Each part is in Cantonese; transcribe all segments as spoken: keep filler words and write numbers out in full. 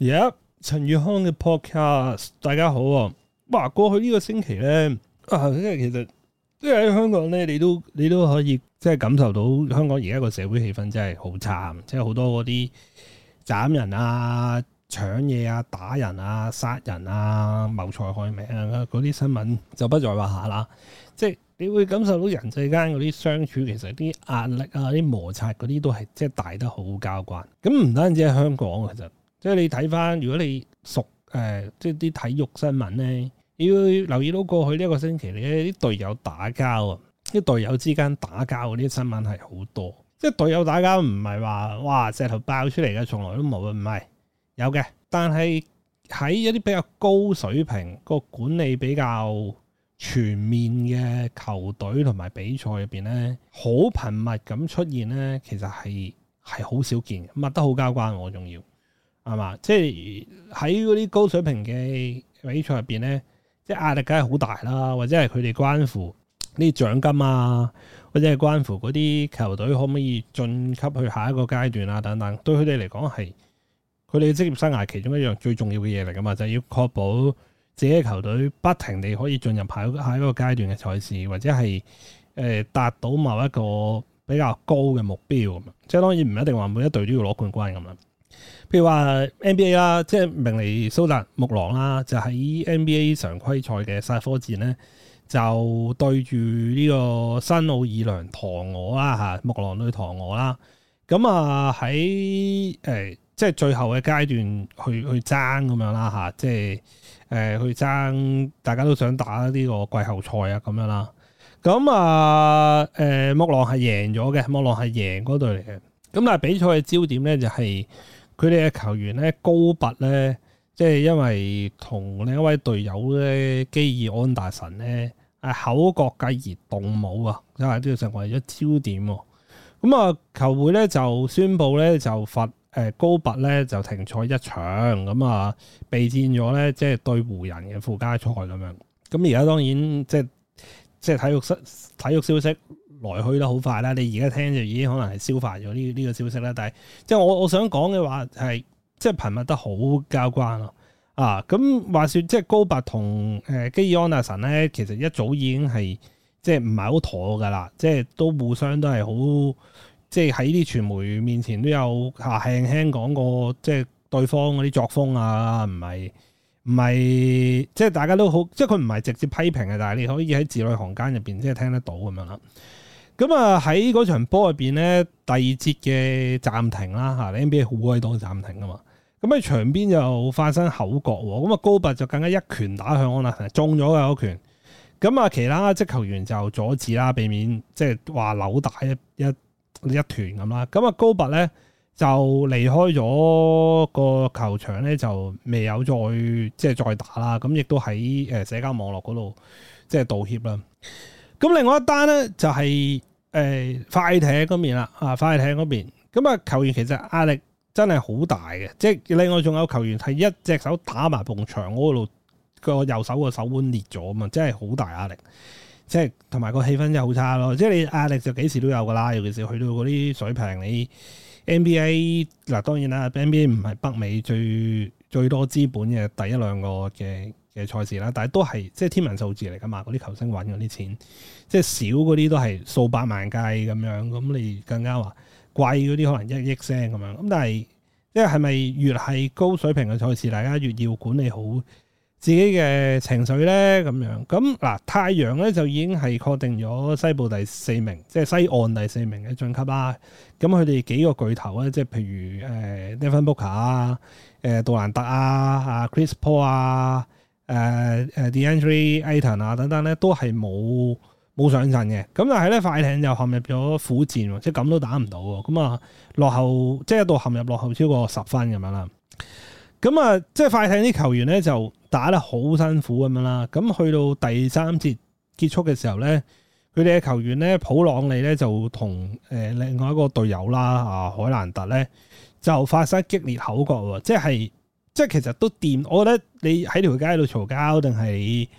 而家陳宇康嘅 podcast，大家好啊！哇，過去呢個星期咧，啊，即係其實即係喺香港咧，你都你都可以即係感受到香港而家個社會氣氛真係好差，即係好多嗰啲斬人啊、搶嘢啊、打人啊、殺人啊、謀財害命啊嗰啲新聞就不在話下啦。即係你會感受到人世間嗰啲相處，其實啲壓力啊、啲摩擦嗰啲都係即係大得好交關。咁唔單止係香港，其實即係你睇翻，如果你熟誒、呃，即係啲體育新聞咧，要留意到過去呢一個星期咧，啲隊友打交啊，啲隊友之間打交嗰啲新聞係好多。即係隊友打交唔係話哇石頭爆出嚟嘅，從來都冇啊，唔係有嘅。但係喺一啲比較高水平、個管理比較全面嘅球隊同埋比賽入邊咧，好頻密咁出現咧，其實係係好少見，密得好交關，我仲要係嘛？即係喺嗰啲高水平嘅比賽入邊咧，即係壓力梗係好大啦，或者係佢哋關乎呢啲獎金啊，或者係關乎嗰啲球隊可唔可以晉級去下一個階段啊等等，對佢哋嚟講係佢哋嘅職業生涯其中一樣最重要嘅嘢嚟噶嘛，就係要確保自己嘅球隊不停地可以進入下一個下一個階段嘅賽事，或者係誒達到某一個比較高嘅目標咁啊！即係當然唔一定話每一隊都要攞冠軍咁啦。譬如話 N B A 啦，即係明尼蘇達木狼啦，就喺 N B A 常規賽嘅煞科戰咧，就對住呢個新奧爾良鵜鶘啦嚇，木狼對鵜鶘啦。咁啊喺誒即係最後嘅階段去去爭咁樣啦嚇，即係。誒、呃、去爭，大家都想打呢個季後賽啊咁樣啦。咁啊誒木狼係贏咗嘅，木狼係贏嗰隊嚟嘅。咁但係比賽嘅焦點咧就係佢哋嘅球員咧高拔咧，即係因為同另一位隊友咧基爾安達臣咧係口角繼而動武啊，因為都要成為咗焦點喎。咁啊球會咧就宣布咧就罰。誒高拔咧就停賽一場，咁啊備戰咗咧，即係對湖人嘅附加賽咁樣。咁而家當然即係即係體育消體育消息來去得好快啦。你而家聽就已經可能係消化咗呢呢個消息啦。但係即係我我想講嘅話係即係頻密得好交關咯。啊，咁話說即係高拔同誒基爾安達臣咧，其實一早已經係即係唔係好妥噶啦，即係都互相都係好。即係喺啲傳媒面前都有下輕輕講過，即係對方嗰啲作風啊，唔係唔係，即係大家都好，即係佢唔係直接批評嘅，但係你可以喺字裏行間入邊即係聽得到咁樣啦。咁啊喺嗰場波入邊咧，第二節嘅暫停啦嚇 ，N B A 好鬼多暫停啊嘛。咁喺場邊就發生口角喎，咁啊高拔就更加一拳打向安達臣，中咗嘅嗰拳。咁啊其他職球員就阻止啦，避免即係話扭打一一。一團咁啦，咁啊高拔咧就離開咗個球場咧，就未有再即係再打啦。咁亦都喺誒社交網絡嗰度即係道歉啦。咁另外一單咧就係、是、誒、呃、快艇嗰邊啦，啊快艇嗰邊，咁啊球員其實壓力真係好大嘅，即係另外仲有球員係一隻手打埋埲牆嗰度，個右手個手腕裂咗啊嘛，真係好大壓力。即係同埋個氣氛真係好差咯，即係你壓力就幾時都有噶啦，尤其是去到嗰啲水平，你 N B A 嗱當然啦 ，N B A 唔係北美最最多資本嘅第一兩個嘅嘅賽事啦，但係都係即係天文數字嚟噶嘛，嗰啲球星揾嗰啲錢，即係少嗰啲都係數百萬計咁樣，咁你更加話貴嗰啲可能一億聲咁樣，咁但係即係係咪越係高水平嘅賽事，大家越要管理好自己嘅情緒咧咁樣，咁嗱太陽咧就已經係確定咗西部第四名，即係西岸第四名嘅晉級啦。咁佢哋幾個巨頭咧，即係譬如誒 Devin Booker 啊、誒杜蘭特啊、啊 Chris Paul 啊、誒誒 DeAndre Ayton 啊等等咧，都係冇冇上陣嘅。咁但係咧快艇就陷入咗苦戰，即係咁都打唔到喎。咁啊落後，即係一度陷入落後超過十分咁樣啦。咁啊，即係快艇啲球員咧就打得好辛苦咁樣啦。咁去到第三節結束嘅時候咧，佢哋嘅球員咧普朗利咧就同誒另外一個隊友啦啊海蘭特咧就發生激烈口角喎。即係即係其實都掂。我覺得你喺條街度嘈交，定係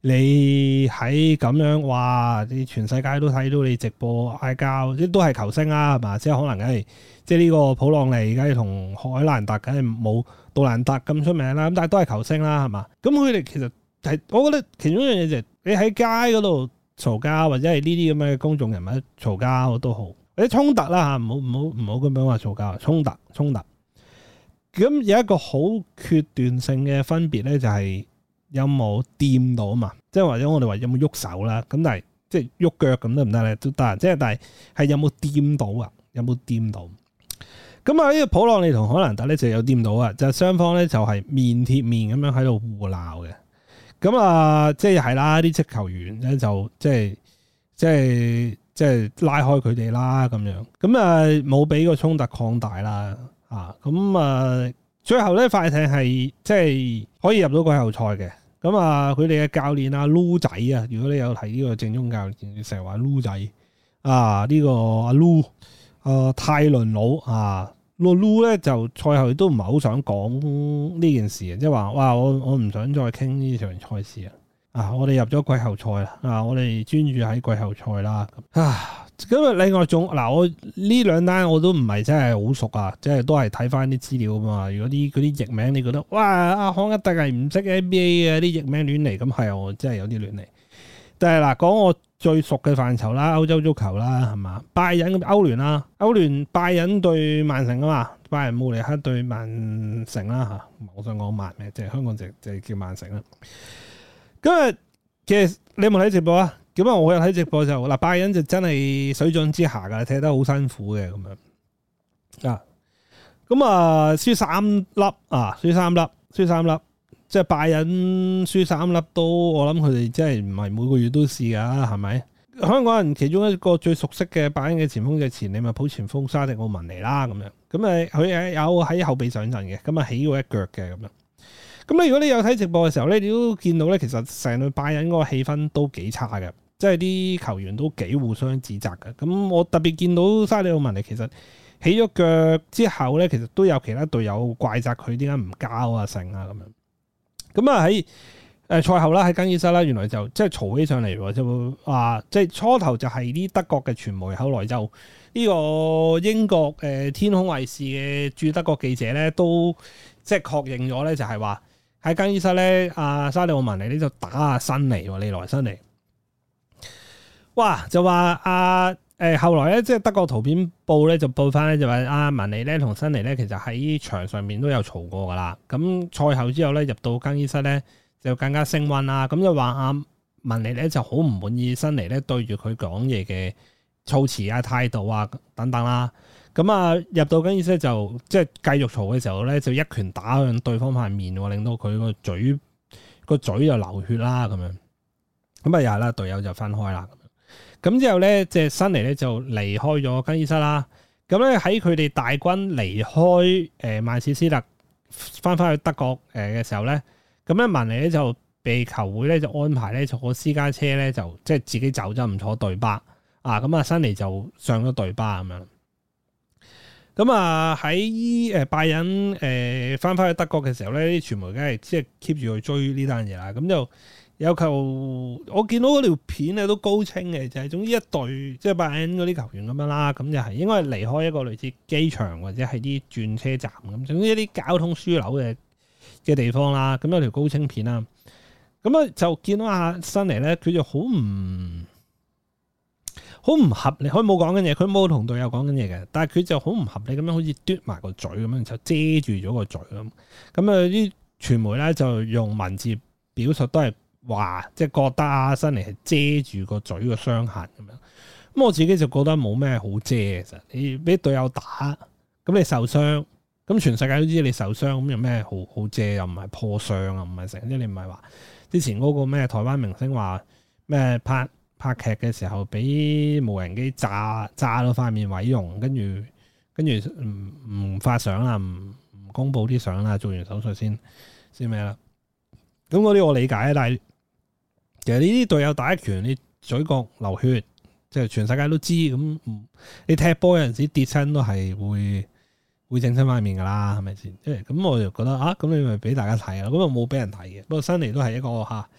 你喺咁樣，哇！你全世界都睇到你直播嗌交，即都係球星啦，係嘛？即係可能梗係，即係呢個普朗尼梗係同海蘭特梗係冇杜蘭特咁出名啦。咁但係都係球星啦，係嘛？咁佢哋其實係，我覺得其中一樣嘢就係你喺街嗰度嘈交，或者係呢啲咁嘅公眾人物嘈交都好，或者衝突啦嚇，唔好唔好唔好咁樣話嘈交，衝突衝突。咁有一個好決斷性嘅分別咧，就係有冇掂到嘛？即係或者我哋話有冇喐手啦？咁但係即係喐腳咁得唔得咧？都得。即係但係係有冇掂到啊？有冇掂到？咁啊呢個普朗尼同海蘭特咧就有掂到啊！就雙方咧就係面貼面咁樣喺度互鬧嘅。咁啊即係係啦，啲職球員咧就即係即係即係拉開佢哋啦咁樣。咁啊冇俾個衝突擴大啦。啊，咁啊，最後咧快艇係即係可以入到季後賽嘅。咁啊，佢哋嘅教練阿 Lou 仔啊，如果你有睇呢個正宗教練，成日話 Lou 仔啊，呢、這個阿 Lou 啊泰倫佬啊，個 Lou 咧就賽後都唔係好想講呢件事啊，即係話哇，我我唔想再傾呢場賽事啊，啊，我哋入咗季後賽啦，啊，我哋專注喺季後賽啦，啊。咁啊！另外仲嗱，我呢兩單我都唔係真係好熟啊，即係都係睇翻啲資料啊嘛。如果啲嗰啲譯名你覺得哇，阿康一定係唔識 N B A 嘅啲譯名亂嚟，咁係我真係有啲亂嚟。但係嗱，講我最熟嘅範疇啦，歐洲足球啦，係嘛？拜仁咁歐聯啦，歐聯拜仁對曼城啊嘛，拜仁慕尼黑對曼城啦嚇。我想講曼咩？即係香港就就叫曼城啦。今日其實你有冇睇直播啊？咁啊，我有睇直播就嗱，拜仁就真係水準之下噶，踢得好辛苦嘅咁樣啊。咁啊，輸三粒啊，輸三粒，輸三粒，即係拜仁輸三粒都，我諗佢哋真係唔係每個月都試噶，係咪？香港人其中一個最熟悉嘅拜仁嘅前鋒嘅前利物浦前鋒沙迪奧文尼啦，咁樣。咁啊，佢係有喺後備上陣嘅，咁啊起過一腳嘅咁樣。咁咧，如果你有睇直播嘅時候咧，你都見到咧，其實成隊拜仁嗰個氣氛都幾差嘅。即係啲球員都幾互相指責嘅，咁我特別見到沙利奧文尼其實起咗腳之後咧，其實都有其他隊友怪責佢點解唔交啊成啊咁樣。咁啊喺誒賽後啦，喺更衣室啦，原來就即係嘈起上嚟喎，就話即係初頭就係啲德國嘅傳媒，後來就呢個英國誒天空衛視嘅駐德國記者咧，都即係確認咗咧，就係話喺更衣室咧，阿沙利奧文尼呢就打阿辛尼喎，利來辛尼。哇！就話阿誒後來咧，即係德國圖片報咧就報翻咧，就話阿文尼咧同辛尼咧，其實喺場上面都有嘈過噶啦。咁賽後之後咧，入到更衣室咧就更加升溫啦。咁就話阿文尼咧就好唔滿意辛尼咧對住佢講嘢嘅措辭啊、態度啊等等啦。咁啊入到更衣室就即係繼續嘈嘅時候咧，就一拳打向對方塊面，令到佢個嘴個嘴就流血啦咁樣。咁啊又係啦，隊友就分開啦。咁之後咧，即係辛尼咧就離開咗更衣室啦。咁咧喺佢哋大軍離開誒曼徹斯特，翻返去德國誒嘅時候咧，咁咧文尼咧就被球會咧就安排咧坐私家車咧，就即係自己走咗，唔坐隊巴啊。咁啊，辛尼就上咗隊巴咁樣。咁啊喺誒拜仁誒翻返去德國嘅時候咧，啲傳媒梗係即係 keep 住去追呢單嘢啦。咁就有球，我見到嗰條片咧都高清嘅，就係、是、總之一隊即係拜仁嗰啲球員咁樣啦，咁就係應該係離開一個類似機場或者係啲轉車站咁，總之一啲交通樞紐嘅嘅地方啦。咁有條高清片啦，咁啊就見到阿辛尼咧，佢就好唔好唔合理，佢冇講緊嘢，佢冇同隊友講緊嘢嘅，但係佢就好唔合理咁樣，好似嘟埋個嘴咁樣，就遮住咗個嘴咁。咁啊啲傳媒咧就用文字表述都係。話即係覺得阿辛尼係遮住個嘴個傷痕咁樣，咁我自己就覺得冇咩好遮嘅。其實你俾隊友打，咁你受傷，咁全世界都知你受傷，咁有咩好好遮？又唔係破傷啊，唔係成，即係你唔係話之前嗰個咩台灣明星話咩拍拍劇嘅時候俾無人機炸炸到塊面毀容，跟住跟住唔唔發相啦，唔唔公布啲相啦，做完手術先先咩啦？咁嗰啲我理解啊，但係。其實呢啲隊友打一拳，你嘴角流血，即係全世界都知。咁你踢波有陣時跌親都係會會整親塊面噶啦，係咪先？即係咁，我就覺得啊，咁你咪俾大家睇啦。咁啊冇俾人睇嘅。不過辛尼都係一個吓，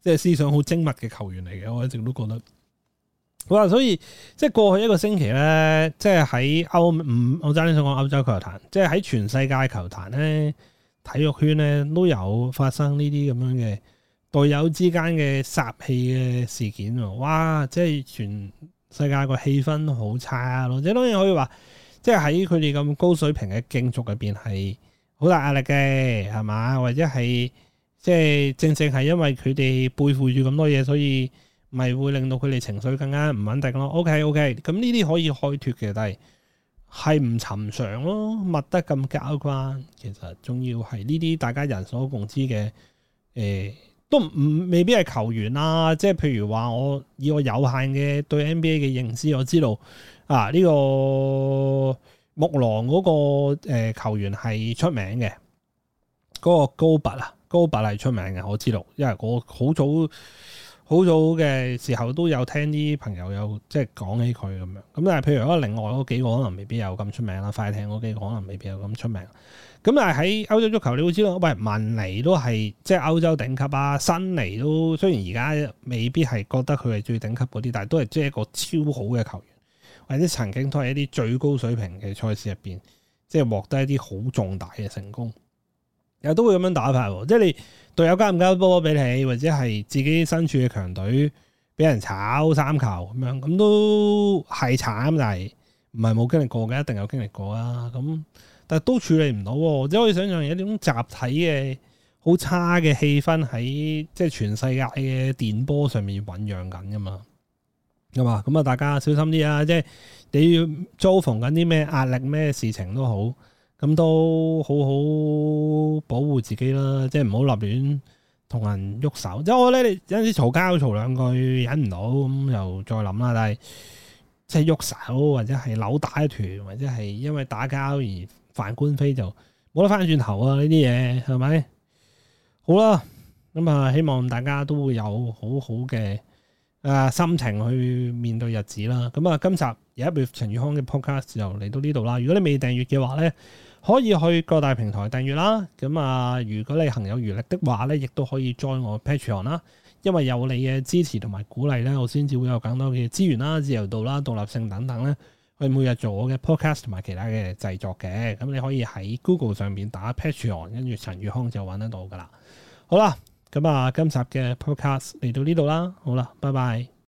即係思想好精密嘅球員嚟嘅，我一直都覺得。好啦，所以即係過去一個星期咧，即係喺歐唔，我爭啲想講歐洲球壇，即係喺全世界球壇咧，體育圈咧都有發生呢啲咁樣嘅隊友之間嘅殺氣嘅事件喎。哇！即係全世界個氣氛好差咯，即係當然可以話，即係喺佢哋咁高水平嘅競逐入邊係好大壓力嘅，係嘛？或者係即係正正係因為佢哋背負住咁多嘢，所以咪會令到佢哋情緒更加唔穩定咯。OK OK，咁呢啲可以開脫嘅，但係係唔尋常咯，密得咁交關，其實仲要係呢啲大家人所共知嘅，誒、呃、都唔未必係球員啦。即係譬如話，我以我有限嘅對 N B A 嘅認知，我知道啊呢、呢個木狼嗰個誒球員係出名嘅，嗰、嗰個高拔啊，高拔係出名嘅，我知道，因為我好早。好早嘅時候都有聽啲朋友有即係講起佢咁樣，咁但係譬如嗰另外嗰幾個可能未必有咁出名啦，快艇嗰幾個可能未必有咁出名。咁但係喺歐洲足球你會知道，喂，文尼都係即係歐洲頂級啊，新尼都雖然而家未必係覺得佢係最頂級嗰啲，但係都係即係一個超好嘅球員，或者曾經都係一啲最高水平嘅賽事入邊，即係獲得一啲好重大嘅成功。又都會咁樣打法喎，即係你隊友交唔交波俾你，或者係自己身處嘅強隊俾人炒三球咁樣，咁都係慘，但係唔係冇經歷過嘅，一定有經歷過啊。咁但係都處理唔到，即係可以想象有一種集體嘅好差嘅氣氛喺即係全世界嘅電波上面醖釀緊噶嘛，係嘛？咁啊，大家小心啲啊！即係你要遭逢緊啲咩壓力咩事情都好。咁都好好保護自己啦，即係唔好立亂同人喐手。即係我覺得你有陣時嘈交嘈兩句忍唔到，咁又再諗啦。但係即係喐手或者係扭打一團，或者係因為打交而犯官非，就冇得翻轉頭啊！呢啲嘢係咪？好啦，咁啊，希望大家都會有好好嘅誒心情去面對日子啦。咁啊，今集有一部陳宇康嘅 podcast 就嚟到呢度啦。如果你未訂閱嘅話咧，可以去各大平台訂閱啦，咁啊，如果你行有餘力的話咧，亦都可以 join 我 Patreon 啦，因為有你嘅支持同埋鼓勵咧，我先至會有更多嘅資源啦、自由度啦、獨立性等等咧，去每日做我嘅 podcast 同埋其他嘅製作嘅。咁你可以喺 Google 上面打 Patreon，跟住陳宇康就揾得到噶啦。好啦，咁啊，今集嘅 podcast 嚟到呢度啦，好啦，拜拜。